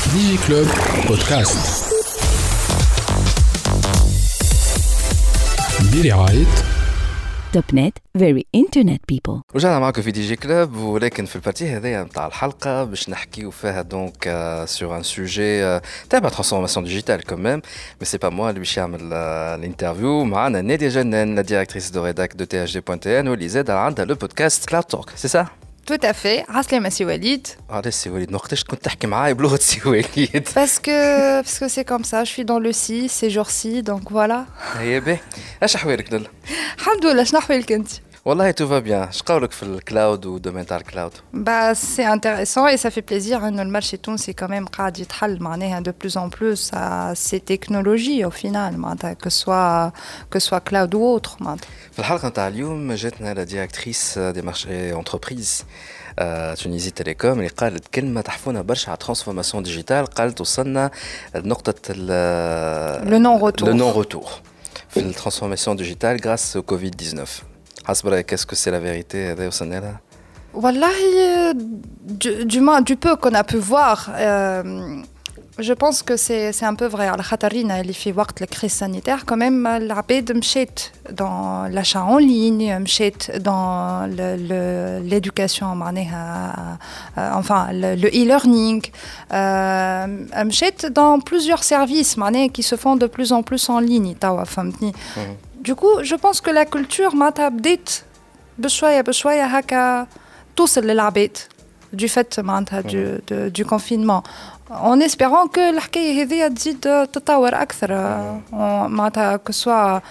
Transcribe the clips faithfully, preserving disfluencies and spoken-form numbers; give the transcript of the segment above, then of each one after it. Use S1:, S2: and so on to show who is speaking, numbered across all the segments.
S1: ديجي كلوب بودكاست برعاية
S2: توب نت very internet people.
S3: رجعنا معكم في دي جي كلوب، ولكن في البارتي هذه نتاع الحلقه باش نحكيو فيها دونك سور ان سوجي تاع ترانسفورماسيون ديجيتال كوميم، مي سي با موا اللي باش يعمل الانترفيو. معنا نادية جنان، لا ديريكتريس دو ريداك دو تي اش دي بوان تي ان، واللي زاد عندها لو بودكاست كلاود توك، سي سا؟
S4: Tout à fait. عسلامة سي وليد.
S3: علاش سي وليد؟ نقدرش كنت تحكي معايا بلغة سي وليد؟
S4: Parce que parce que c'est comme ça, je suis dans le si ces jours-ci, donc voilà.
S3: هيا باهي، اش احوالك دول؟
S4: الحمد لله. شنو احوالك انت؟
S3: والله تو فا بيان. اش قولك في الكلاود ودومين تاع الكلاود؟
S4: Bah c'est intéressant et ça fait plaisir انه المارشي التونسي quand même قاعد يتحل معناها de plus en plus à ces technologies au final معناتها que soit que soit cloud ou autre معناتها.
S3: في الحلقة نتاع اليوم جاتنا لا ديريكتريس دي مارشي انتربريز تونيزي تيليكوم اللي قالت كلمة تحفونا برشا على ترانسفورماسيون ديجيتال. قالت وصلنا لنقطة
S4: لو نون روتور
S3: لو نون روتور في الترانسفورماسيون ديجيتال غراس au كوفيد تسعطاش. حسب رأيك اسكو سي لا فيريتي هذا وصلنا لها؟
S4: والله du, du moins du peu qu'on a pu voir euh, je pense que c'est c'est un peu vrai. على خاطرنا اللي في وقت الكريس سانيتير quand même العباد مشات dans l'achat en ligne, مشات dans le, le, l'éducation معناها euh, enfin le, le e-learning, euh, مشات dans plusieurs services معناها qui se font de plus en plus en ligne توا فهمتني. Du coup, je pense que la culture معناتها بدات بشوية بشوية هكا توصل للعباد du fait معناتها du, du, du confinement. En espérant que الحكاية هذه تزيد تتطور أكثر معناتها que soit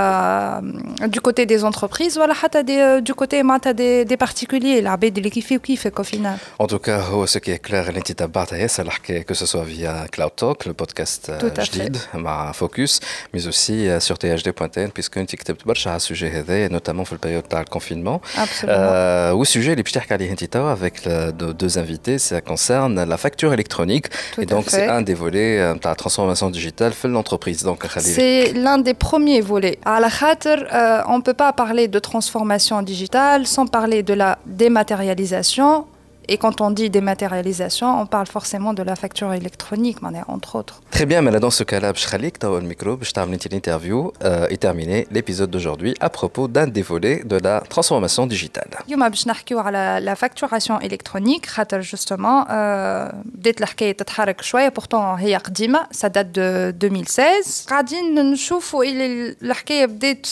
S4: euh, du côté des entreprises ولا حتى des, du côté معناتها des, des particuliers العباد اللي كيف وكيفك au final.
S3: En tout cas, هو ce qui est clair اللي انت تبعتها ياسر الحكاية que ce soit via Cloud Talk, le podcast جديد مع Focus, mais aussi sur تي إتش دي بوان تي إن puisque انت كتبت برشا على السوجي هذا notamment في البريود تاع الكونفينمون.
S4: Absolument.
S3: والسوجي اللي باش تحكي عليه انت توا avec deux invités, ça concerne la facture électronique.
S4: Tout
S3: et donc
S4: à
S3: c'est
S4: fait.
S3: un des volets de la transformation digitale de l'entreprise. Donc
S4: c'est l'un des premiers volets. À la khater, euh, on peut pas parler de transformation digitale sans parler de la dématérialisation. Et quand on dit dématérialisation, on parle forcément de la facture électronique, entre autres.
S3: Très bien, mais là, dans ce cas-là, je vais vous le micro, je vais vous l'interview euh, et terminer l'épisode d'aujourd'hui à propos d'un des volets de la transformation digitale.
S4: Aujourd'hui, je vais vous parler de la facturation électronique, car justement, بدأت الحكاية تتحرك شوية, pourtant هي قديمة, ça date de deux mille seize. قاعدين نشوفوا اللي الحكاية بدأت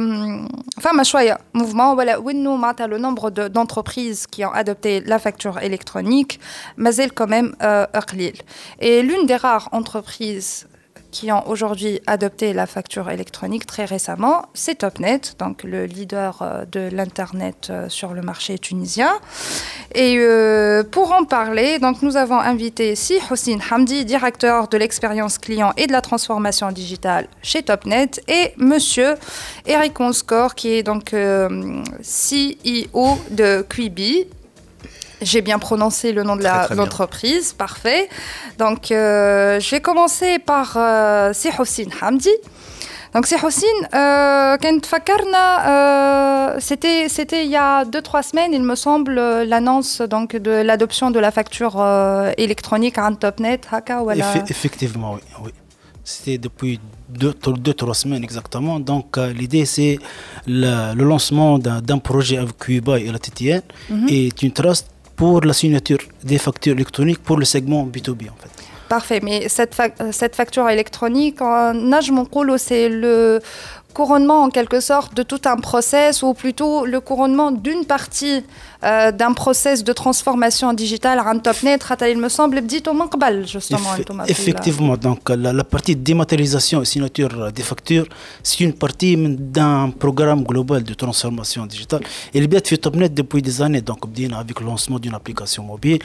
S4: فما شوية mouvement, ولا وإنه معناتها le nombre de, d'entreprises qui ont adopté la facture électronique, mais elle quand même euh, قليل. Et l'une des rares entreprises qui ont aujourd'hui adopté la facture électronique très récemment, c'est Topnet, donc le leader euh, de l'internet euh, sur le marché tunisien. Et euh, pour en parler, donc nous avons invité Si Houssine Hamdi, directeur de l'expérience client et de la transformation digitale chez Topnet, et Monsieur Eric Onscore, qui est donc euh, C E O de Quibi. J'ai bien prononcé le nom de la, très, très l'entreprise, bien. Parfait. Donc, euh, je vais commencer par euh, Si Houssine Hamdi. Donc, Si Houssine, euh, quand Fakarna, euh, c'était, c'était il y a deux trois semaines, il me semble, l'annonce donc, de l'adoption de la facture euh, électronique à Topnet. Haka, voilà.
S5: Eff- effectivement, oui. oui. C'était depuis deux, deux trois semaines exactement. Donc, euh, l'idée, c'est le, le lancement d'un, d'un projet avec Quibi et la T T N mm-hmm. et une trust pour la signature des factures électroniques pour le segment B deux B en fait.
S4: Parfait, mais cette, fa- cette facture électronique, en âge mon colo, c'est le couronnement en quelque sorte de tout un process, ou plutôt le couronnement d'une partie euh, d'un process de transformation digitale à Topnet, il me semble, dit au Manqbal, justement.
S5: Eff- effectivement, donc la, la partie dématérialisation et signature des factures, c'est une partie d'un programme global de transformation digitale. Et le fait Topnet depuis des années, donc avec le lancement d'une application mobile,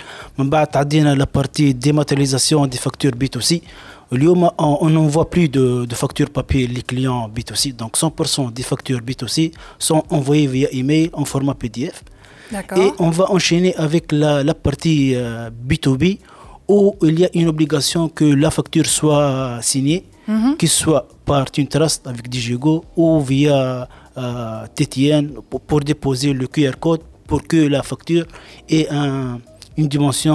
S5: la partie dématérialisation des factures B deux C. اليوم on n'envoie plus de, de factures papier les clients B deux C, donc cent pour cent des factures B deux C sont envoyées via email en format P D F.
S4: D'accord.
S5: Et on va enchaîner avec la, la partie euh, B deux B où il y a une obligation que la facture soit signée, mm-hmm. qu'il soit par une trust avec Digigo ou via euh, T T N pour, pour déposer le Q R code pour que la facture ait un une dimension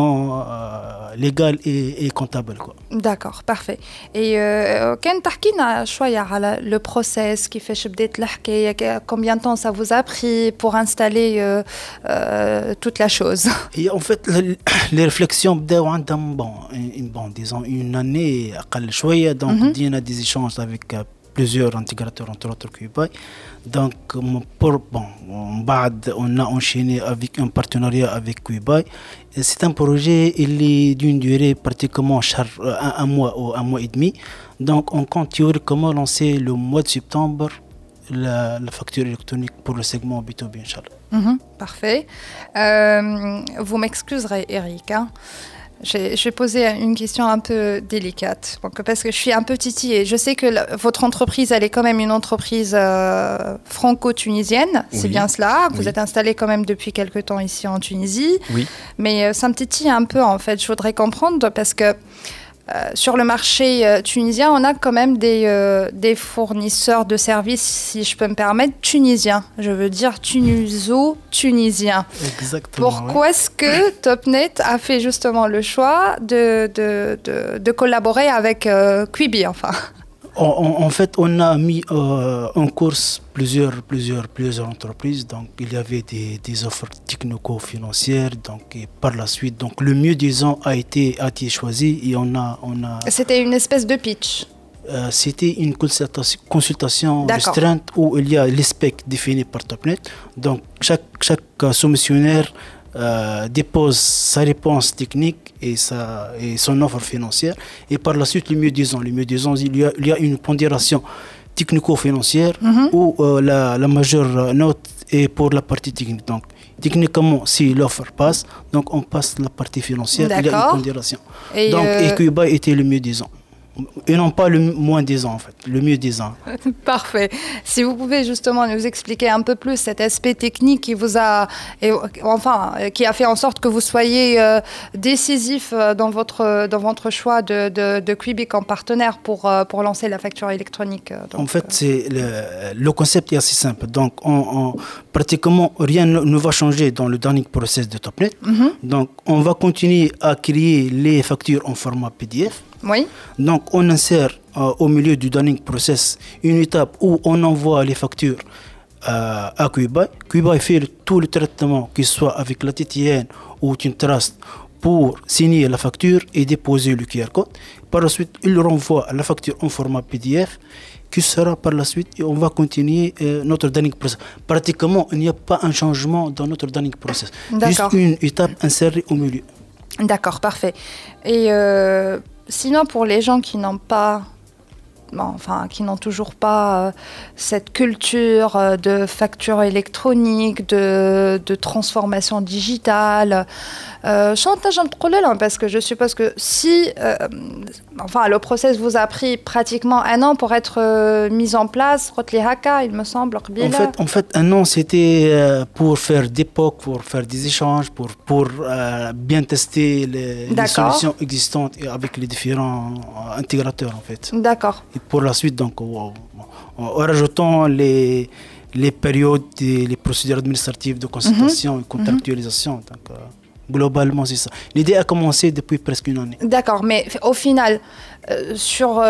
S5: euh, légale et, et comptable, quoi.
S4: D'accord, parfait. Et euh, quand t'as شوية على le process كيفاش بدات الحكاية, combien de temps ça vous a pris pour installer euh, euh, toute la chose?
S5: Et en fait, le, les réflexions بداو عندهم bon, une, bon, disons une année أقل شوية, donc mm-hmm. بدينا des échanges avec euh, plusieurs intégrateurs, entre autres Cubai. Donc, pour, bon, on a enchaîné avec un partenariat avec Cubai. C'est un projet il est d'une durée pratiquement un, un mois ou un mois et demi. Donc, on compte théoriquement lancer le mois de septembre la, la facture électronique pour le segment B deux B, Inch'Allah.
S4: Mm-hmm, parfait. Euh, vous m'excuserez, Eric, hein. Je vais poser une question un peu délicate, donc, parce que je suis un peu titillée. Je sais que la, votre entreprise, elle est quand même une entreprise euh, franco-tunisienne, oui. C'est bien cela. Vous oui. êtes installé quand même depuis quelque temps ici en Tunisie.
S3: Oui.
S4: Mais euh, ça me titille un peu, en fait. Je voudrais comprendre, parce que Euh, sur le marché euh, tunisien, on a quand même des, euh, des fournisseurs de services, si je peux me permettre, tunisiens. Je veux dire tuniso-tunisiens.
S5: Exactement.
S4: Pourquoi
S5: ouais.
S4: est-ce que Topnet a fait justement le choix de, de, de, de collaborer avec euh, Quibi, enfin?
S5: En, en, en fait, on a mis euh, en course plusieurs, plusieurs, plusieurs entreprises. Donc, il y avait des, des offres technico-financières. Donc, et par la suite, donc, le mieux disant a été, a été choisi et on a, on a.
S4: C'était une espèce de pitch.
S5: Euh, c'était une consultation, consultation restreinte où il y a les specs définis par Topnet. Donc, chaque, chaque soumissionnaire Euh, dépose sa réponse technique et, sa, et son offre financière. Et par la suite, le mieux disant, le mieux disant, il y a, il y a une pondération technico-financière mm-hmm. où euh, la, la majeure note est pour la partie technique. Donc, techniquement, si l'offre passe, donc on passe la partie financière,
S4: D'accord.
S5: il y a une pondération.
S4: Et
S5: donc,
S4: euh...
S5: et Cuba était le mieux disant. Et non pas le moins disant, en fait, le mieux disant.
S4: Parfait. Si vous pouvez justement nous expliquer un peu plus cet aspect technique qui vous a, et, enfin, qui a fait en sorte que vous soyez euh, décisif dans votre, dans votre choix de, de, de Quibi comme partenaire pour, pour lancer la facture électronique. Donc,
S5: en fait, c'est le, le concept est assez simple. Donc, on, on, pratiquement rien ne, ne va changer dans le dernier process de Topnet. Mm-hmm. Donc, on va continuer à créer les factures en format P D F.
S4: Oui.
S5: Donc, on insère euh, au milieu du dunning process une étape où on envoie les factures euh, à Cubai. Cubai fait le, tout le traitement, qu'il soit avec la T T N ou une trust, pour signer la facture et déposer le Q R code. Par la suite, il renvoie la facture en format P D F, qui sera par la suite, et on va continuer euh, notre dunning process. Pratiquement, il n'y a pas un changement dans notre dunning process. Juste une étape insérée au milieu.
S4: D'accord, parfait. Et euh... sinon, pour les gens qui n'ont pas, bon, enfin, qui n'ont toujours pas euh, cette culture euh, de facture électronique, de, de transformation digitale, chantage euh, parce que je suppose que si, euh, enfin, le process vous a pris pratiquement un an pour être euh, mis en place, il me semble.
S5: En fait, en fait, un an, c'était euh, pour faire des P O C, pour faire des échanges, pour, pour euh, bien tester les, les solutions existantes avec les différents intégrateurs, en fait.
S4: D'accord.
S5: Et pour la suite, donc, en, en, en rajoutant les, les périodes, et les procédures administratives de consultation mm-hmm. et contractualisation. Mm-hmm. Donc, euh, globalement, c'est ça. L'idée a commencé depuis presque une année.
S4: D'accord, mais au final, euh, sur, euh,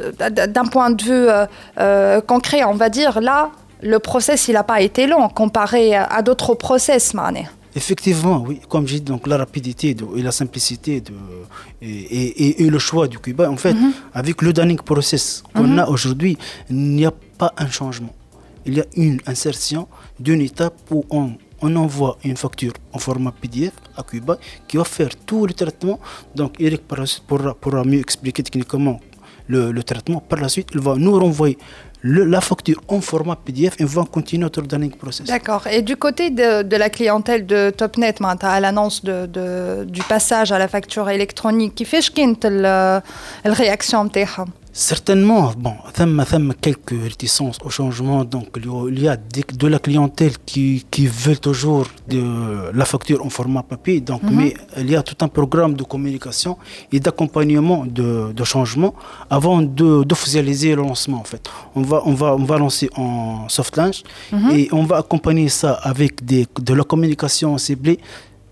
S4: d'un point de vue euh, euh, concret, on va dire, là, le process, il n'a pas été long comparé à, à d'autres process, Mané.
S5: Effectivement, oui. Comme j'ai dit, donc, la rapidité de, et la simplicité de, et, et, et le choix du Cuba, en fait, mm-hmm. avec le dunning process qu'on mm-hmm. a aujourd'hui, il n'y a pas un changement. Il y a une insertion d'une étape où on on envoie une facture en format P D F à Cuba qui va faire tout le traitement. Donc, Eric pourra, pourra mieux expliquer techniquement le, le traitement. Par la suite, il va nous renvoyer le, la facture en format P D F et va continuer notre dunning process.
S4: D'accord. Et du côté de, de la clientèle de Topnet, à l'annonce de, de, du passage à la facture électronique, qui fait la réaction de
S5: Certainement, bon, il y a quelques réticences au changement. Donc, il y a de la clientèle qui, qui veut toujours de la facture en format papier. Donc, mm-hmm. mais il y a tout un programme de communication et d'accompagnement de, de changement avant de, d'officialiser le lancement. En fait, on va, on va, on va lancer en soft launch mm-hmm. et on va accompagner ça avec des, de la communication ciblée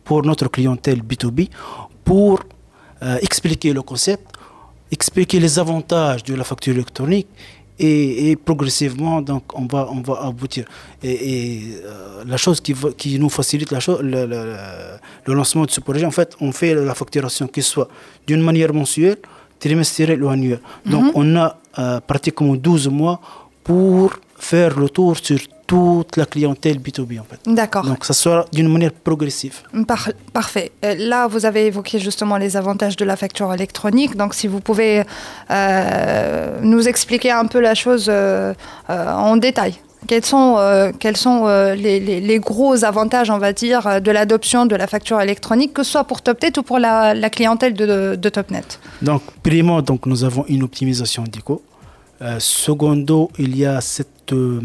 S5: pour notre clientèle B deux B pour euh, expliquer le concept, expliquer les avantages de la facture électronique et, et progressivement donc on va on va aboutir et, et euh, la chose qui va, qui nous facilite la chose le, le, le lancement de ce projet, en fait on fait la facturation qui soit d'une manière mensuelle, trimestrielle ou annuelle. Donc mm-hmm. on a euh, pratiquement douze mois pour faire le tour sur toute la clientèle B deux B en fait.
S4: D'accord.
S5: Donc ça sera d'une manière progressive.
S4: Par- parfait. Là, vous avez évoqué justement les avantages de la facture électronique. Donc si vous pouvez euh, nous expliquer un peu la chose euh, euh, en détail. Quels sont, euh, quels sont euh, les, les, les gros avantages, on va dire, de l'adoption de la facture électronique, que ce soit pour TopNet ou pour la, la clientèle de, de TopNet? Donc,
S5: primo, donc, nous avons une optimisation des coûts. Euh, secondo, il y a cette euh,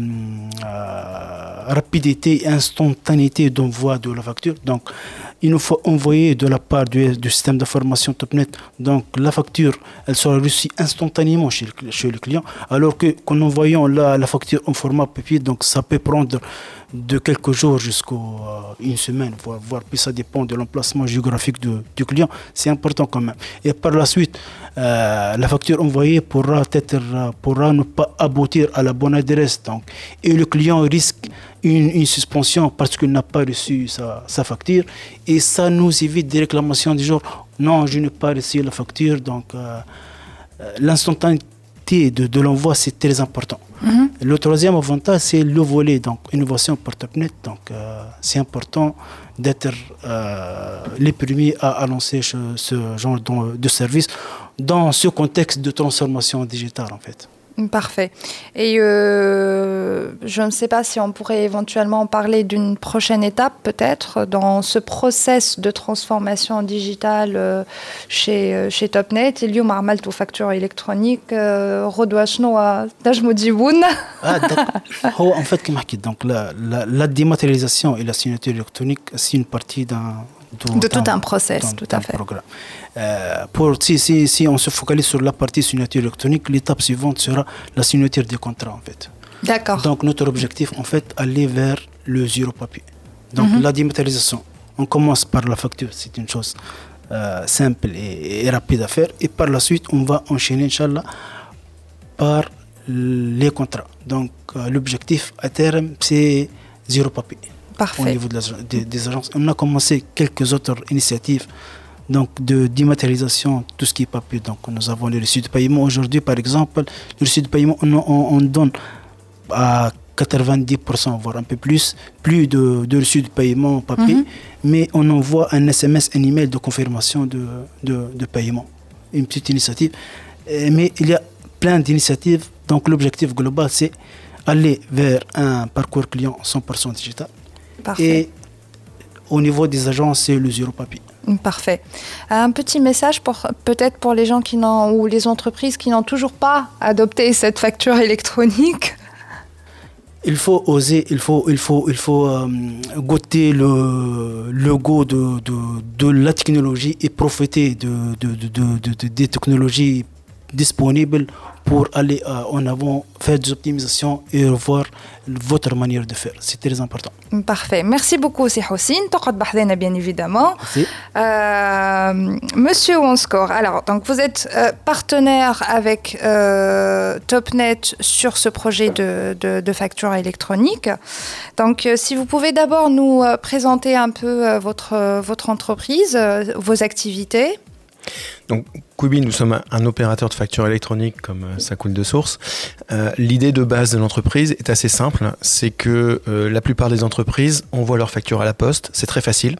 S5: euh, rapidité et instantanéité d'envoi de la facture. Donc, il nous faut envoyer de la part du, du système d'information TopNet. Donc, la facture, elle sera reçue instantanément chez le, chez le client. Alors que, qu'en envoyant la, la facture en format papier, donc ça peut prendre de quelques jours jusqu'à euh, une semaine, voire, voire puis ça dépend de l'emplacement géographique de, du client. C'est important quand même. Et par la suite, euh, la facture envoyée pourra, être, pourra ne pas aboutir à la bonne adresse. Donc, et le client risque une, une suspension parce qu'il n'a pas reçu sa, sa facture. Et ça nous évite des réclamations du genre « Non, je n'ai pas reçu la facture ». Donc, euh, l'instantanéité de, de l'envoi, c'est très important. Mm-hmm. Le troisième avantage, c'est le volet, donc innovation pour TopNet. Donc, euh, c'est important d'être euh, les premiers à, à lancer ce, ce genre de, de service dans ce contexte de transformation digitale, en fait.
S4: Parfait. Et euh, je ne sais pas si on pourrait éventuellement parler d'une prochaine étape, peut-être, dans ce process de transformation digitale euh, chez, chez TopNet. Il y a un facture électronique. Redouas شنو تنجموا تجيبونا؟
S5: هو en fait كما حكيت donc la la la dématérialisation et la signature électronique c'est une partie d'un
S4: de tout un process, tout à fait.
S5: Programme. Euh, pour, si, si, si on se focalise sur la partie signature électronique, l'étape suivante sera la signature des contrats, en fait.
S4: D'accord.
S5: Donc, notre objectif, en fait, aller vers le zéro papier. Donc, mm-hmm. la dématérialisation, on commence par la facture, c'est une chose euh, simple et, et rapide à faire. Et par la suite, on va enchaîner, Inch'Allah, par les contrats. Donc, euh, l'objectif à terme, c'est zéro papier.
S4: Parfait.
S5: Au niveau de la, des, des agences. On a commencé quelques autres initiatives donc de dématérialisation, tout ce qui est papier. Donc nous avons les reçus de paiement. Aujourd'hui, par exemple, les reçus de paiement, on, on, on donne à quatre-vingt-dix pour cent, voire un peu plus, plus de, de reçus de paiement papier, mm-hmm. mais on envoie un S M S, un email de confirmation de, de, de paiement. Une petite initiative. Mais il y a plein d'initiatives. Donc l'objectif global, c'est aller vers un parcours client cent pour cent digital.
S4: Parfait.
S5: Et au niveau des agences, c'est le zéro papier.
S4: Parfait. Un petit message pour, peut-être pour les gens qui n'ont, ou les entreprises qui n'ont toujours pas adopté cette facture électronique.
S5: Il faut oser, il faut, il faut, il faut euh, goûter le, le goût de, de, de la technologie et profiter de, de, de, de, de, de, des technologies disponibles pour aller euh, en avant, faire des optimisations et revoir votre manière de faire. C'est très important.
S4: Parfait. Merci beaucoup, c'est Houssine. Taqad Bahdena, bien évidemment.
S5: Merci.
S4: Euh, Monsieur OneScore, alors, donc vous êtes euh, partenaire avec euh, TopNet sur ce projet de, de, de facture électronique. Donc, euh, si vous pouvez d'abord nous euh, présenter un peu euh, votre, euh, votre entreprise, euh, vos activités.
S6: Donc, Quibi, nous sommes un, un opérateur de facture électronique, comme euh, ça coule de source. Euh, l'idée de base de l'entreprise est assez simple. C'est que euh, la plupart des entreprises envoient leurs factures à la poste. C'est très facile.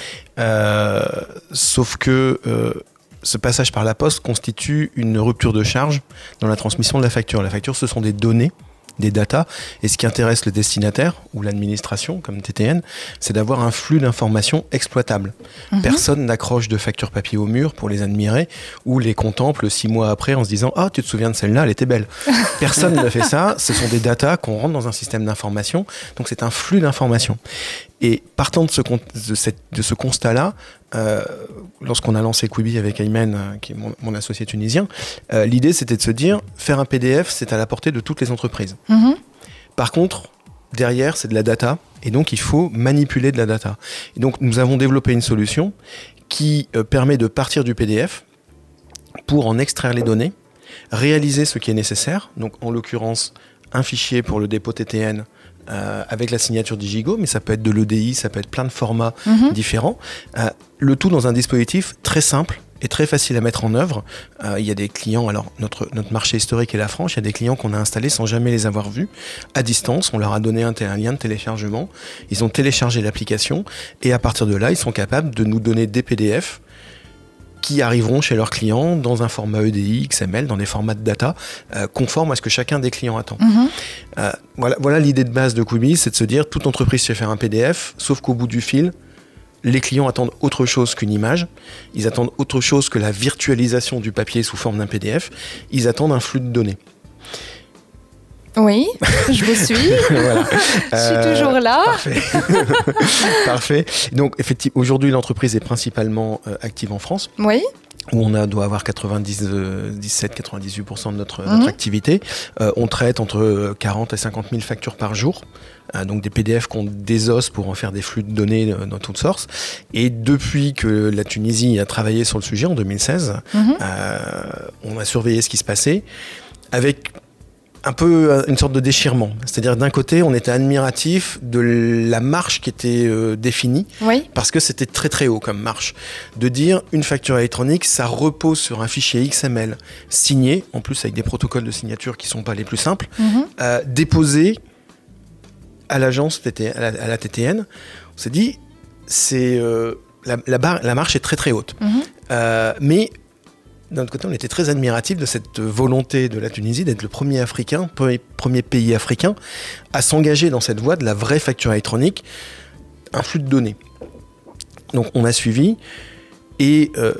S6: Euh, sauf que euh, ce passage par la poste constitue une rupture de charge dans la transmission de la facture. La facture, ce sont des données, des datas, et ce qui intéresse le destinataire ou l'administration comme T T N, c'est d'avoir un flux d'informations exploitable. Mmh. Personne n'accroche de factures papier au mur pour les admirer ou les contemple six mois après en se disant « Ah, tu te souviens de celle-là, elle était belle ». Personne ne fait ça, ce sont des datas qu'on rentre dans un système d'information, donc c'est un flux d'informations. Et partant de ce, de cette, de ce constat-là, euh, lorsqu'on a lancé Quibi avec Ayman, euh, qui est mon, mon associé tunisien, euh, l'idée c'était de se dire, faire un P D F, c'est à la portée de toutes les entreprises. Mm-hmm. Par contre, derrière, c'est de la data, et donc il faut manipuler de la data. Et donc nous avons développé une solution qui euh, permet de partir du P D F pour en extraire les données, réaliser ce qui est nécessaire, donc en l'occurrence un fichier pour le dépôt T T N euh, avec la signature Digigo, mais ça peut être de l'E D I, ça peut être plein de formats mm-hmm. différents, euh, le tout dans un dispositif très simple et très facile à mettre en œuvre. Euh, il y a des clients, alors notre, notre marché historique est la France, il y a des clients qu'on a installés sans jamais les avoir vus, à distance, on leur a donné un, un lien de téléchargement, ils ont téléchargé l'application, et à partir de là, ils sont capables de nous donner des P D F qui arriveront chez leurs clients dans un format E D I, X M L, dans des formats de data euh, conformes à ce que chacun des clients attend. Mmh. Euh, voilà, voilà l'idée de base de Quibi, c'est de se dire, toute entreprise sait faire un P D F, sauf qu'au bout du fil, les clients attendent autre chose qu'une image, ils attendent autre chose que la virtualisation du papier sous forme d'un P D F, ils attendent un flux de données.
S4: Oui, je vous suis. Voilà. Je suis euh, toujours là.
S6: Parfait. Parfait. Donc, effectivement, aujourd'hui, l'entreprise est principalement euh, active en France.
S4: Oui.
S6: Où on a, doit avoir quatre-vingt-dix-sept à quatre-vingt-dix-huit pour cent de notre, mmh. notre activité. Euh, on traite entre quarante et cinquante mille factures par jour. Euh, donc des P D F qu'on désosse pour en faire des flux de données euh, dans toutes sortes. Et depuis que la Tunisie a travaillé sur le sujet en deux mille seize, mmh. euh, on a surveillé ce qui se passait avec un peu une sorte de déchirement. C'est-à-dire, d'un côté, on était admiratif de la marche qui était euh, définie,
S4: oui.
S6: parce que c'était très très haut comme marche. De dire, une facture électronique, ça repose sur un fichier X M L signé, en plus avec des protocoles de signature qui ne sont pas les plus simples, mm-hmm. euh, déposé à l'agence, à la, à la T T N. On s'est dit, c'est, euh, la, la, barre, la marche est très très haute. Mm-hmm. Euh, mais d'un autre côté, on était très admiratifs de cette volonté de la Tunisie d'être le premier Africain, premier pays africain à s'engager dans cette voie de la vraie facture électronique, un flux de données. Donc on a suivi et euh,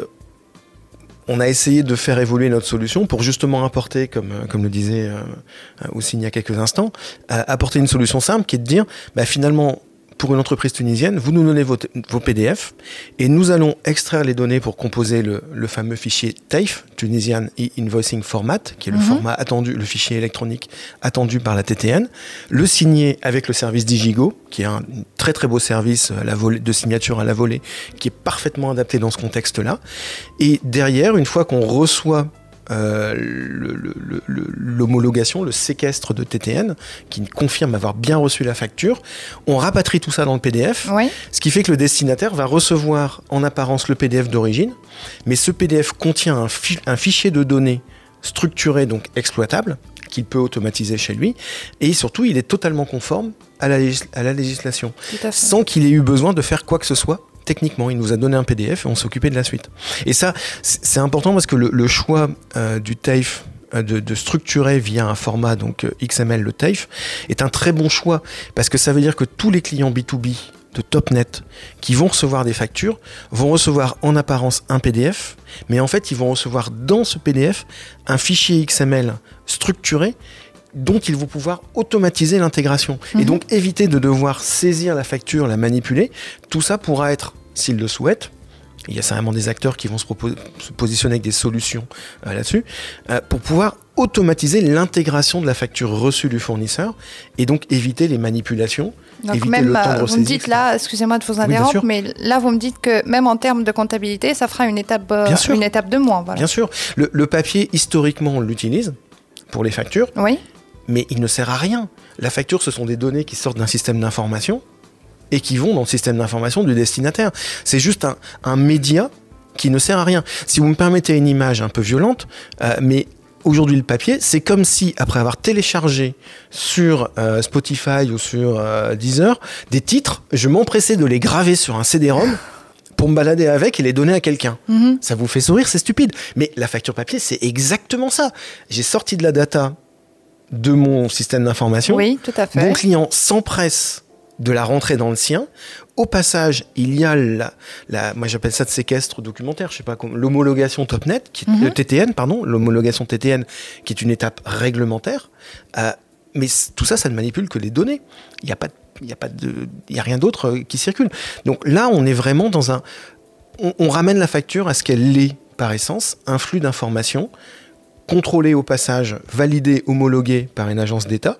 S6: on a essayé de faire évoluer notre solution pour justement apporter, comme, comme le disait euh, Houssine il y a quelques instants, euh, apporter une solution simple qui est de dire, bah, finalement, pour une entreprise tunisienne, vous nous donnez vos, t- vos P D F et nous allons extraire les données pour composer le, le fameux fichier T A I F, Tunisian E-Invoicing Format, qui est le mm-hmm. format attendu, le fichier électronique attendu par la T T N, le signer avec le service Digigo, qui est un très très beau service à la volée, de signature à la volée, qui est parfaitement adapté dans ce contexte-là. Et derrière, une fois qu'on reçoit Euh, le, le, le, l'homologation, le séquestre de T T N qui confirme avoir bien reçu la facture, on rapatrie tout ça dans le P D F,
S4: oui.
S6: ce qui fait que le destinataire va recevoir en apparence le P D F d'origine, mais ce P D F contient un, fi- un fichier de données structuré, donc exploitable, qu'il peut automatiser chez lui, et surtout il est totalement conforme à la, légis- à la législation, sans qu'il ait eu besoin de faire quoi que ce soit. Techniquement, il nous a donné un P D F et on s'est occupé de la suite. Et ça, c'est important parce que le, le choix euh, du T A I F, euh, de, de structurer via un format donc euh, X M L le T A I F, est un très bon choix parce que ça veut dire que tous les clients B deux B de Topnet qui vont recevoir des factures vont recevoir en apparence un P D F, mais en fait, ils vont recevoir dans ce P D F un fichier X M L structuré dont ils vont pouvoir automatiser l'intégration. Mmh. Et donc éviter de devoir saisir la facture, la manipuler. Tout ça pourra être, s'ils le souhaitent, il y a certainement des acteurs qui vont se, propos- se positionner avec des solutions euh, là-dessus, euh, pour pouvoir automatiser l'intégration de la facture reçue du fournisseur et donc éviter les manipulations.
S4: Donc
S6: éviter
S4: même,
S6: le temps de
S4: vous
S6: ressaisie,
S4: me dites là, excusez-moi de vous interrompre, oui, mais là vous me dites que même en termes de comptabilité, ça fera une étape, euh, une étape de moins. Voilà.
S6: Bien sûr. Le, le papier, historiquement, on l'utilise pour les factures.
S4: Oui.
S6: Mais il ne sert à rien. La facture, ce sont des données qui sortent d'un système d'information et qui vont dans le système d'information du destinataire. C'est juste un, un média qui ne sert à rien. Si vous me permettez une image un peu violente, euh, mais aujourd'hui le papier, c'est comme si, après avoir téléchargé sur euh, Spotify ou sur euh, Deezer des titres, je m'empressais de les graver sur un C D-ROM pour me balader avec et les donner à quelqu'un. Mm-hmm. Ça vous fait sourire, c'est stupide. Mais la facture papier, c'est exactement ça. J'ai sorti de la data de mon système d'information.
S4: Oui, tout à fait.
S6: Mon client s'empresse de la rentrer dans le sien. Au passage, il y a la, la moi j'appelle ça de séquestre documentaire, je sais pas comment, l'homologation Topnet, qui, mm-hmm. le T T N, pardon, l'homologation T T N, qui est une étape réglementaire. Euh, mais tout ça, ça ne manipule que les données. Il n'y a pas, il y a pas de, il y a rien d'autre qui circule. Donc là, on est vraiment dans un, on, on ramène la facture à ce qu'elle est par essence, un flux d'informations contrôlé au passage, validé, homologué par une agence d'État,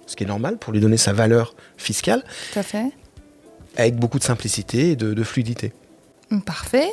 S6: ce qui est normal pour lui donner sa valeur fiscale.
S4: Tout à fait.
S6: Avec beaucoup de simplicité et de, de fluidité.
S4: Parfait.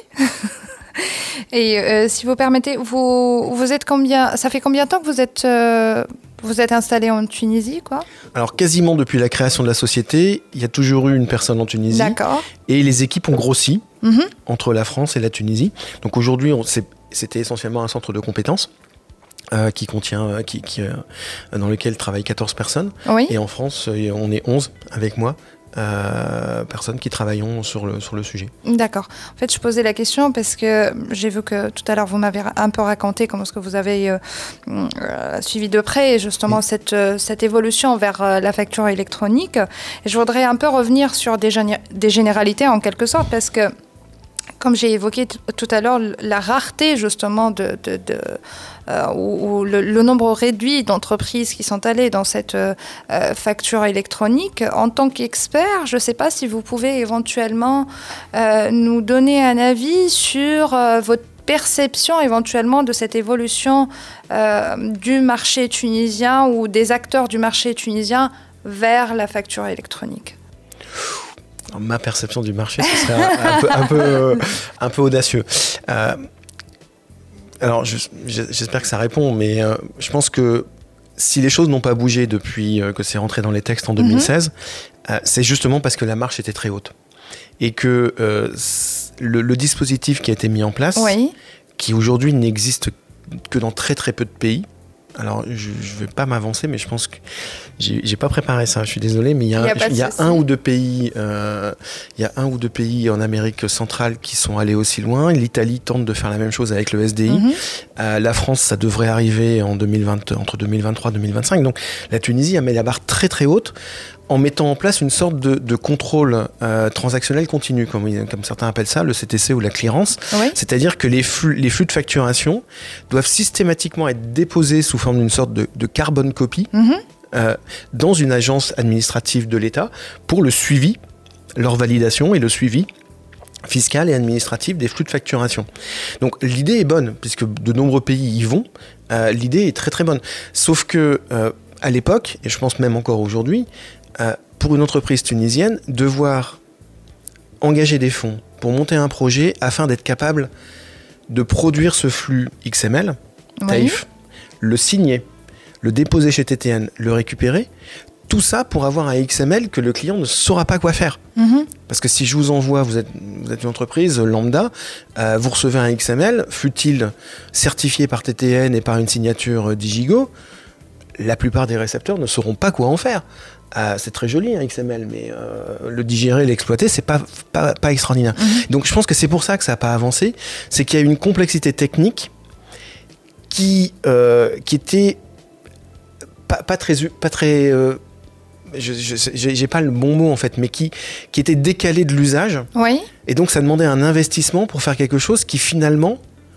S4: Et euh, si vous permettez, vous, vous êtes combien, ça fait combien de temps que vous êtes, euh, vous êtes installé en Tunisie, quoi ?
S6: Alors, quasiment depuis la création de la société, il y a toujours eu une personne en Tunisie.
S4: D'accord.
S6: Et les équipes ont grossi
S4: mm-hmm.
S6: entre la France et la Tunisie. Donc aujourd'hui, on, c'est, c'était essentiellement un centre de compétences euh, qui contient, euh, qui, qui, euh, dans lequel travaillent quatorze personnes.
S4: Oui.
S6: Et en France, on est onze avec moi. Euh, personnes qui travaillons sur le, sur le sujet.
S4: D'accord. En fait, je posais la question parce que j'ai vu que tout à l'heure, vous m'avez un peu raconté comment est-ce que vous avez euh, euh, suivi de près justement oui. cette, euh, cette évolution vers euh, la facture électronique. Et je voudrais un peu revenir sur des, géné- des généralités en quelque sorte parce que comme j'ai évoqué t- tout à l'heure, la rareté justement de, de, de euh, ou, ou le, le nombre réduit d'entreprises qui sont allées dans cette euh, facture électronique. En tant qu'expert, je ne sais pas si vous pouvez éventuellement euh, nous donner un avis sur euh, votre perception éventuellement de cette évolution euh, du marché tunisien ou des acteurs du marché tunisien vers la facture électronique.
S6: Alors, ma perception du marché, ce serait un, un, peu, un, peu, euh, un peu audacieux. Euh, alors, je, j'espère que ça répond, mais euh, je pense que si les choses n'ont pas bougé depuis euh, que c'est rentré dans les textes en deux mille seize, mm-hmm. euh, c'est justement parce que la marche était très haute. Et que euh, le, le dispositif qui a été mis en place,
S4: oui.
S6: qui aujourd'hui n'existe que dans très très peu de pays, alors je ne vais pas m'avancer, mais je pense que j'ai, j'ai pas préparé ça, je suis désolé, mais il y a, il y a un ou deux pays, euh, il y a un ou deux pays en Amérique centrale qui sont allés aussi loin. L'Italie tente de faire la même chose avec le S D I. Mm-hmm. Euh, la France, ça devrait arriver en deux mille vingt, entre deux mille vingt-trois et deux mille vingt-cinq. Donc la Tunisie a mis la barre très très haute en mettant en place une sorte de, de contrôle euh, transactionnel continu, comme, comme certains appellent ça, le C T C ou la clearance.
S4: Oui.
S6: C'est-à-dire que les flux, les flux de facturation doivent systématiquement être déposés sous forme d'une sorte de, de carbone copy mm-hmm. euh, dans une agence administrative de l'État pour le suivi, leur validation et le suivi fiscal et administratif des flux de facturation. Donc l'idée est bonne, puisque de nombreux pays y vont, euh, l'idée est très très bonne. Sauf que euh, à l'époque, et je pense même encore aujourd'hui, Euh, pour une entreprise tunisienne, devoir engager des fonds pour monter un projet afin d'être capable de produire ce flux X M L, oui. Taïf, le signer, le déposer chez T T N, le récupérer, tout ça pour avoir un X M L que le client ne saura pas quoi faire. Mm-hmm. Parce que si je vous envoie, vous êtes, vous êtes une entreprise lambda, euh, vous recevez un X M L, fût-il certifié par T T N et par une signature Digigo, la plupart des récepteurs ne sauront pas quoi en faire. Euh, c'est très joli un X M L, mais euh, le digérer, l'exploiter, c'est pas, pas, pas extraordinaire. Mmh. Donc je pense que c'est pour ça que ça n'a pas avancé, c'est qu'il y a une complexité technique qui, euh, qui était pas, pas très... Pas très euh, je, je, j'ai, j'ai pas le bon mot en fait, mais qui, qui était décalée de l'usage.
S4: Oui.
S6: Et donc ça demandait un investissement pour faire quelque chose qui finalement...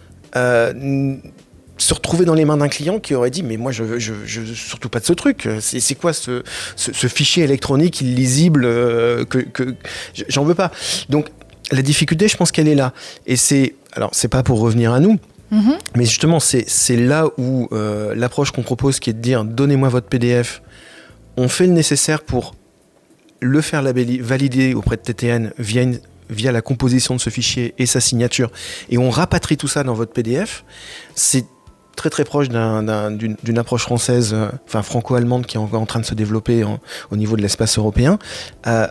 S6: Euh, se retrouver dans les mains d'un client qui aurait dit mais moi je veux je, je, surtout pas de ce truc, c'est, c'est quoi ce, ce, ce fichier électronique illisible euh, que, que j'en veux pas. Donc la difficulté, je pense qu'elle est là, et c'est alors c'est pas pour revenir à nous, mm-hmm. mais justement c'est, c'est là où euh, l'approche qu'on propose, qui est de dire donnez-moi votre P D F, on fait le nécessaire pour le faire labelli- valider auprès de T T N via une via la composition de ce fichier et sa signature, et on rapatrie tout ça dans votre P D F. C'est très très proche d'un, d'un, d'une, d'une approche française, euh, enfin franco-allemande, qui est encore en train de se développer en, au niveau de l'espace européen. Euh,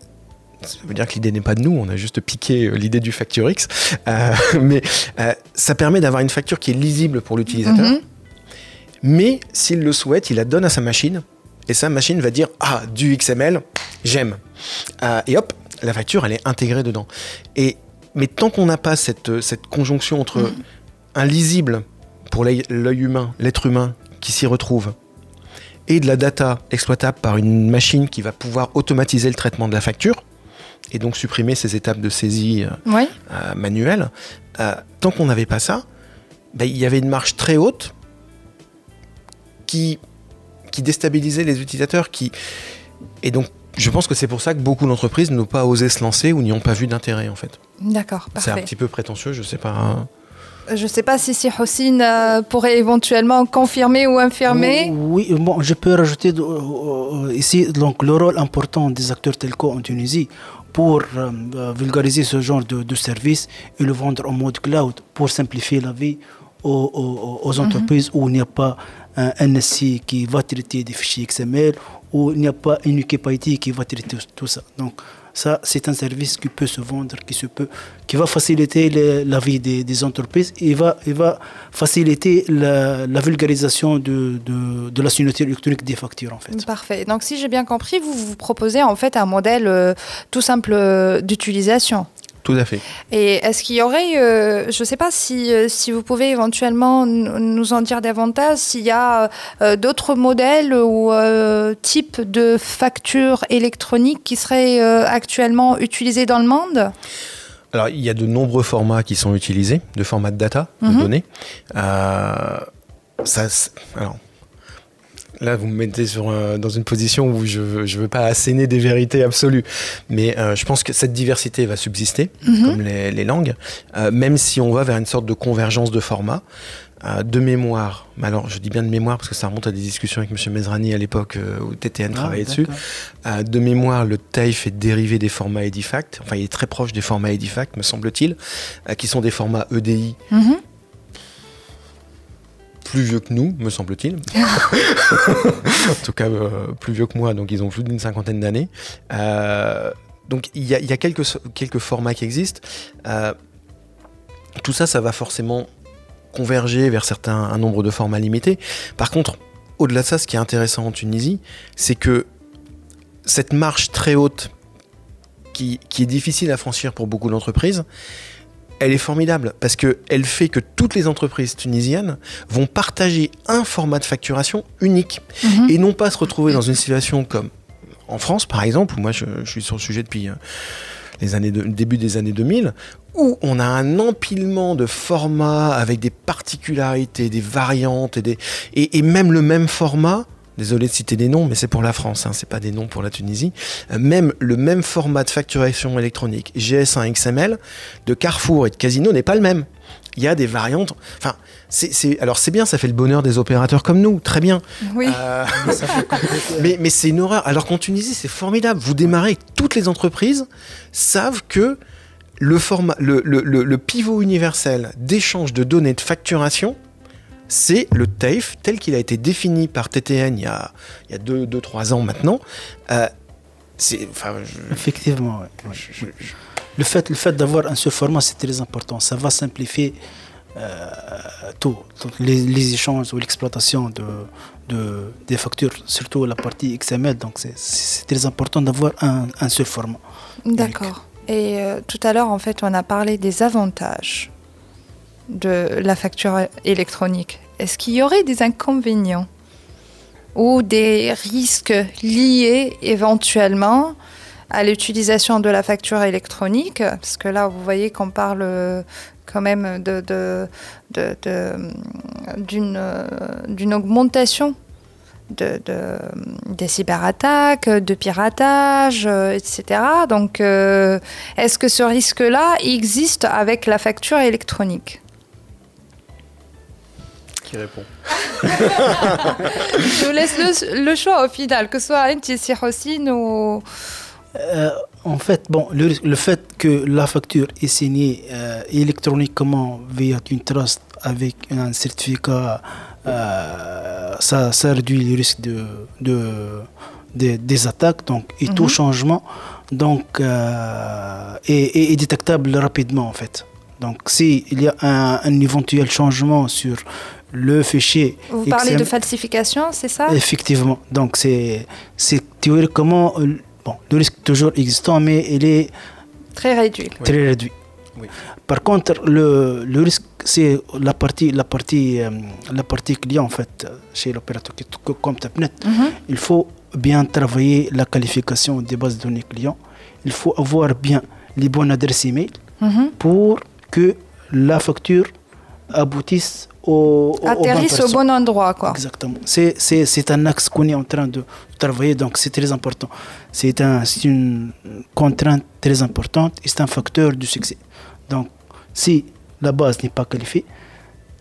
S6: ça veut dire que l'idée n'est pas de nous, on a juste piqué euh, l'idée du FactureX, euh, mais euh, ça permet d'avoir une facture qui est lisible pour l'utilisateur, mm-hmm. mais s'il le souhaite, il la donne à sa machine, et sa machine va dire « Ah, du X M L, j'aime euh, !» Et hop, la facture, elle est intégrée dedans. Et, mais tant qu'on n'a pas cette, cette conjonction entre mmh. un lisible pour l'œil, l'œil humain, l'être humain qui s'y retrouve, et de la data exploitable par une machine qui va pouvoir automatiser le traitement de la facture, et donc supprimer ces étapes de saisie euh,
S4: oui.
S6: euh, manuelle, euh, tant qu'on n'avait pas ça, bah, y avait une marge très haute qui, qui déstabilisait les utilisateurs. Qui... Et donc, je pense que c'est pour ça que beaucoup d'entreprises n'ont pas osé se lancer ou n'y ont pas vu d'intérêt, en fait.
S4: D'accord, parfait.
S6: C'est un petit peu prétentieux, je sais pas.
S4: Je ne sais pas si si Houssine euh, pourrait éventuellement confirmer ou infirmer.
S5: Oui, bon, je peux rajouter euh, ici donc, le rôle important des acteurs telco en Tunisie pour euh, vulgariser ce genre de, de service et le vendre en mode cloud pour simplifier la vie aux, aux, aux entreprises mm-hmm. où il n'y a pas un N S I qui va traiter des fichiers X M L, où il n'y a pas une équipe I T qui va traiter tout ça. Donc, ça, c'est un service qui peut se vendre, qui, se peut, qui va faciliter les, la vie des, des entreprises et va, et va faciliter la, la vulgarisation de, de, de la signature électronique des factures, en fait.
S4: Parfait. Donc, si j'ai bien compris, vous vous proposez en fait un modèle euh, tout simple euh, d'utilisation.
S6: Tout à fait.
S4: Et est-ce qu'il y aurait, euh, je ne sais pas si, euh, si vous pouvez éventuellement n- nous en dire davantage, s'il y a euh, d'autres modèles ou euh, types de factures électroniques qui seraient euh, actuellement utilisés dans le monde ?
S6: Alors, il y a de nombreux formats qui sont utilisés, de formats de data, de mm-hmm. données. Euh, ça, alors, là, vous me mettez sur, euh, dans une position où je ne veux pas asséner des vérités absolues. Mais euh, je pense que cette diversité va subsister, mm-hmm. comme les, les langues, euh, même si on va vers une sorte de convergence de formats. Euh, de mémoire, mais alors je dis bien de mémoire parce que ça remonte à des discussions avec M. Mezrani à l'époque euh, où T T N ah, travaillait dessus. Euh, de mémoire, le T A I F est dérivé des formats Edifact, enfin il est très proche des formats Edifact, me semble-t-il, euh, qui sont des formats E D I. Mm-hmm. Plus vieux que nous, me semble-t-il. En tout cas, euh, plus vieux que moi, donc ils ont plus d'une cinquantaine d'années. Euh, donc il y a, y a quelques, quelques formats qui existent. Euh, tout ça, ça va forcément converger vers certains, un nombre de formats limités. Par contre, au-delà de ça, ce qui est intéressant en Tunisie, c'est que cette marche très haute, qui, qui est difficile à franchir pour beaucoup d'entreprises, elle est formidable parce qu'elle fait que toutes les entreprises tunisiennes vont partager un format de facturation unique mmh. et non pas se retrouver dans une situation comme en France, par exemple, où moi je, je suis sur le sujet depuis les années de, début des années deux mille, où on a un empilement de formats avec des particularités, des variantes et, des, et, et même le même format. Désolé de citer des noms, mais c'est pour la France, hein, c'est pas des noms pour la Tunisie. Euh, même le même format de facturation électronique G S un X M L de Carrefour et de Casino n'est pas le même. Il y a des variantes. Enfin, c'est, c'est, alors c'est bien, ça fait le bonheur des opérateurs comme nous, très bien.
S4: Oui.
S6: Euh, mais, mais c'est une horreur. Alors qu'en Tunisie, c'est formidable. Vous démarrez, toutes les entreprises savent que le format, le, le, le, le pivot universel d'échange de données de facturation, c'est le T A I F tel qu'il a été défini par T T N il y a, il y a deux, deux, trois ans maintenant. Euh, c'est, enfin, je...
S5: Effectivement, ouais. je, je, je... Le, fait, le fait d'avoir un seul format, c'est très important. Ça va simplifier euh, tout, tout les, les échanges ou l'exploitation de, de, des factures, surtout la partie X M L. Donc, c'est, c'est très important d'avoir un, un seul format.
S4: D'accord. Et euh, tout à l'heure, en fait, on a parlé des avantages de la facture électronique. Est-ce qu'il y aurait des inconvénients ou des risques liés éventuellement à l'utilisation de la facture électronique ? Parce que là, vous voyez qu'on parle quand même de, de, de, de, d'une, d'une augmentation de, de, des cyberattaques, de piratage, et cetera. Donc, euh, est-ce que ce risque-là existe avec la facture électronique ?
S6: Qui répond ?
S4: Je vous laisse le, le choix au final, que ce soit Inti Houssine ou...
S5: Euh, en fait, bon, le, le fait que la facture est signée euh, électroniquement via une trust avec un certificat, euh, ça, ça réduit le risque de, de, de, des attaques donc, et mm-hmm. tout changement donc, euh, est, est, est détectable rapidement en fait. Donc, s'il y a un, un éventuel changement sur le fichier...
S4: Vous parlez X M... de falsification, c'est ça ?
S5: Effectivement. Donc, c'est, c'est théoriquement... Bon, le risque est toujours existant, mais il est...
S4: Très réduit.
S5: Très oui. réduit.
S6: Oui.
S5: Par contre, le, le risque, c'est la partie, la, partie, euh, la partie client, en fait, chez l'opérateur comme Topnet. Mm-hmm. Il faut bien travailler la qualification des bases de données clients. Il faut avoir bien les bonnes adresses email mm-hmm. pour que la facture aboutisse au, au,
S4: atterrisse au bon endroit, quoi.
S5: Exactement. C'est, c'est, c'est un axe qu'on est en train de travailler, donc c'est très important. C'est, un, c'est une contrainte très importante et c'est un facteur du succès. Donc, si la base n'est pas qualifiée,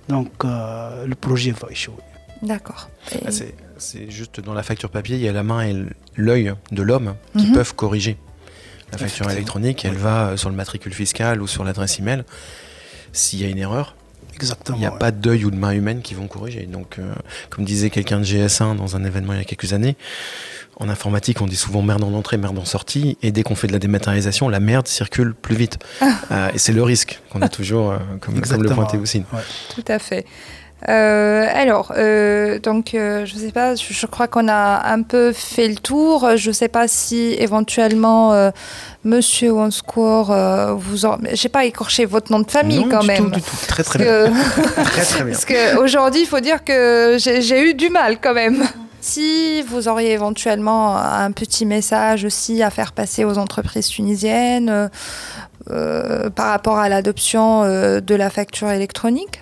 S5: donc euh, le projet va échouer.
S4: D'accord. Et...
S6: Ah, c'est, c'est juste dans la facture papier, il y a la main et l'œil de l'homme qui mm-hmm. peuvent corriger. La facture électronique, elle oui. va sur le matricule fiscal ou sur l'adresse email. S'il y a une erreur, Exactement, il n'y a ouais. pas d'œil ou de main humaine qui vont corriger. Donc, euh, comme disait quelqu'un de G S un dans un événement il y a quelques années, en informatique, on dit souvent merde en entrée, merde en sortie. Et dès qu'on fait de la dématérialisation, la merde circule plus vite. Ah. Euh, et c'est le risque qu'on a toujours, euh, comme, comme le pointait Houssine.
S4: Ouais. Tout à fait. Euh, alors, euh, donc, euh, je ne sais pas, je, je crois qu'on a un peu fait le tour. Je ne sais pas si éventuellement, euh, Monsieur Wanscourt, euh, vous en... j'ai pas écorché votre nom de famille
S6: non,
S4: quand
S6: du
S4: même.
S6: Tout, du tout. Très très bien. Que... très très bien.
S4: Parce qu'aujourd'hui, il faut dire que j'ai, j'ai eu du mal quand même. Si vous auriez éventuellement un petit message aussi à faire passer aux entreprises tunisiennes euh, euh, par rapport à l'adoption euh, de la facture électronique.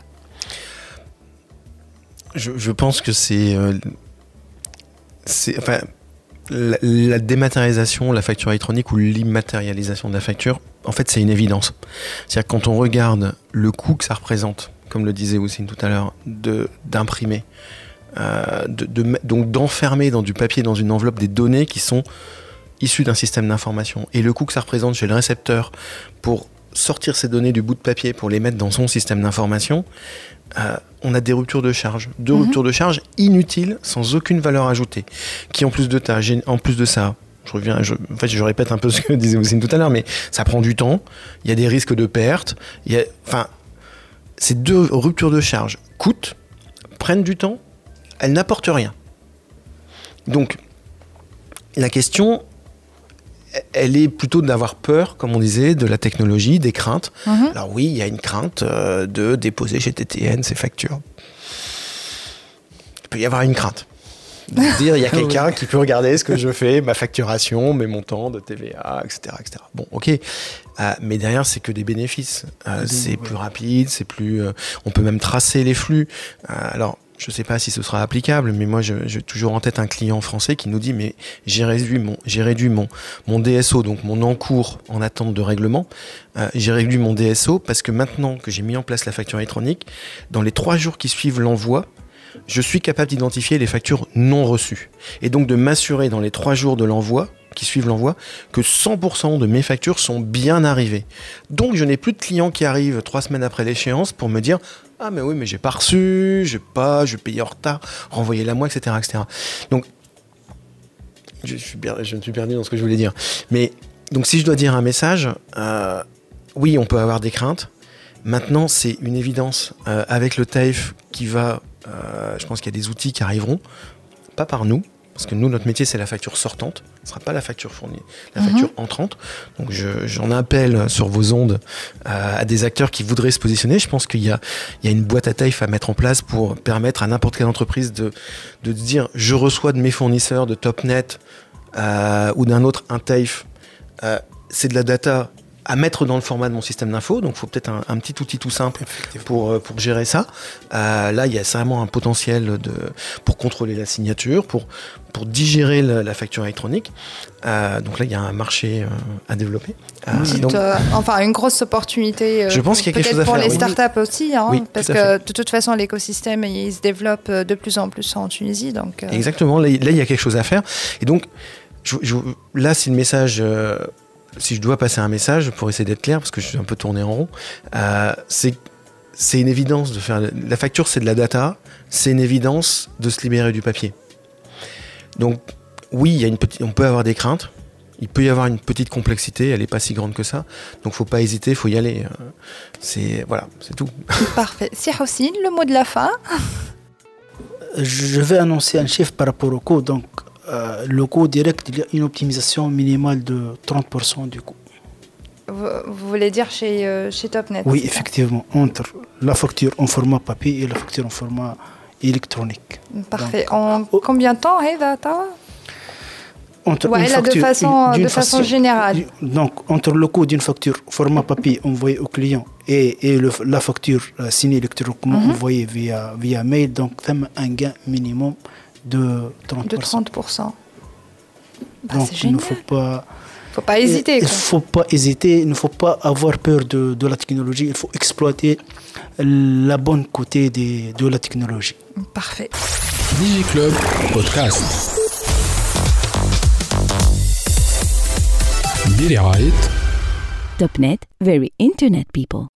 S6: Je, je pense que c'est, euh, c'est enfin, la, la dématérialisation, la facture électronique ou l'immatérialisation de la facture, en fait, c'est une évidence. C'est-à-dire que quand on regarde le coût que ça représente, comme le disait Houssine tout à l'heure, de, d'imprimer, euh, de, de, donc d'enfermer dans du papier, dans une enveloppe, des données qui sont issues d'un système d'information, et le coût que ça représente chez le récepteur pour sortir ces données du bout de papier, pour les mettre dans son système d'information, Euh, on a des ruptures de charge, deux mmh. ruptures de charge inutiles, sans aucune valeur ajoutée, qui en plus de, ta, en plus de ça, je reviens, je, en fait je répète un peu ce que disait Houssine tout à l'heure, mais ça prend du temps, il y a des risques de perte, il y a, enfin, ces deux ruptures de charge coûtent, prennent du temps, elles n'apportent rien. Donc, la question, elle est plutôt d'avoir peur, comme on disait, de la technologie, des craintes. Mmh. Alors oui, il y a une crainte euh, de déposer chez T T N ces factures. Il peut y avoir une crainte. De dire, il y a quelqu'un qui peut regarder ce que je fais, ma facturation, mes montants de T V A, et cetera, et cetera. Bon, ok. Euh, mais derrière, c'est que des bénéfices. Euh, mmh, c'est ouais. plus rapide, c'est plus... Euh, on peut même tracer les flux. Euh, alors... Je ne sais pas si ce sera applicable, mais moi, je, j'ai toujours en tête un client français qui nous dit « mais j'ai réduit mon, j'ai réduit mon, mon D S O, donc mon encours en attente de règlement, euh, j'ai réduit mon D S O parce que maintenant que j'ai mis en place la facture électronique, dans les trois jours qui suivent l'envoi, je suis capable d'identifier les factures non reçues. Et donc de m'assurer dans les trois jours de l'envoi, qui suivent l'envoi, que cent pour cent de mes factures sont bien arrivées. Donc je n'ai plus de clients qui arrivent trois semaines après l'échéance pour me dire « ah mais oui, mais j'ai pas reçu, j'ai pas, je paye en retard, renvoyez-la moi, et cetera, et cetera » Donc, je, suis, je me suis perdu dans ce que je voulais dire. Mais, donc si je dois dire un message, euh, oui, on peut avoir des craintes. Maintenant, c'est une évidence. Euh, avec le T A F qui va, euh, je pense qu'il y a des outils qui arriveront, pas par nous, parce que nous, notre métier, c'est la facture sortante. Ce ne sera pas la facture fournie, la mmh. facture entrante. Donc, je, j'en appelle sur vos ondes euh, à des acteurs qui voudraient se positionner. Je pense qu'il y a, il y a une boîte à T A F à mettre en place pour permettre à n'importe quelle entreprise de, de dire « je reçois de mes fournisseurs de Topnet euh, ou d'un autre un T A F euh, ». C'est de la data à mettre dans le format de mon système d'info, donc il faut peut-être un, un petit outil tout simple pour, pour gérer ça. Euh, là, il y a vraiment un potentiel de, pour contrôler la signature, pour, pour digérer la, la facture électronique. Euh, donc là, il y a un marché euh, à développer. Euh,
S4: Petite, donc, euh, enfin, une grosse opportunité. Euh,
S6: je pense qu'il y a quelque chose à
S4: faire. Peut-être pour les
S6: oui.
S4: startups aussi, hein,
S6: oui,
S4: parce que de toute façon, l'écosystème il se développe de plus en plus en Tunisie. Donc, euh...
S6: Exactement, là, là, il y a quelque chose à faire. Et donc, je, je, là, c'est le message... Euh, si je dois passer un message, pour essayer d'être clair, parce que je suis un peu tourné en rond, euh, c'est, c'est une évidence de faire... La facture, c'est de la data, c'est une évidence de se libérer du papier. Donc, oui, il y a une petite, on peut avoir des craintes, il peut y avoir une petite complexité, elle n'est pas si grande que ça, donc il ne faut pas hésiter, il faut y aller. C'est, voilà, c'est tout.
S4: Parfait. Si Houssine, le mot de la fin.
S5: Je vais annoncer un chiffre par rapport au coût, donc Euh, le coût direct, il y a une optimisation minimale de trente pour cent du coût.
S4: Vous, vous voulez dire chez, euh, chez Topnet?
S5: Oui, effectivement, entre la facture en format papier et la facture en format électronique.
S4: Parfait. Donc, en oh, combien de temps, Heda
S5: entre
S4: ouais,
S5: une
S4: là,
S5: facture,
S4: de façon,
S5: une,
S4: de façon
S5: façon
S4: générale.
S5: Donc, entre le coût d'une facture format papier envoyée au client et, et le, la facture euh, signée électroniquement mm-hmm. envoyée via, via mail, donc ça a un gain minimum de trente pour cent.
S4: De trente pour cent. Bah,
S5: donc,
S4: c'est
S5: il ne
S4: génial.
S5: faut pas...
S4: faut pas hésiter.
S5: Il ne faut pas hésiter, il ne faut pas avoir peur de, de la technologie, il faut exploiter la bonne côté de, de la technologie.
S4: Parfait.
S1: DigiClub Podcast. برعاية
S2: Topnet, very internet people.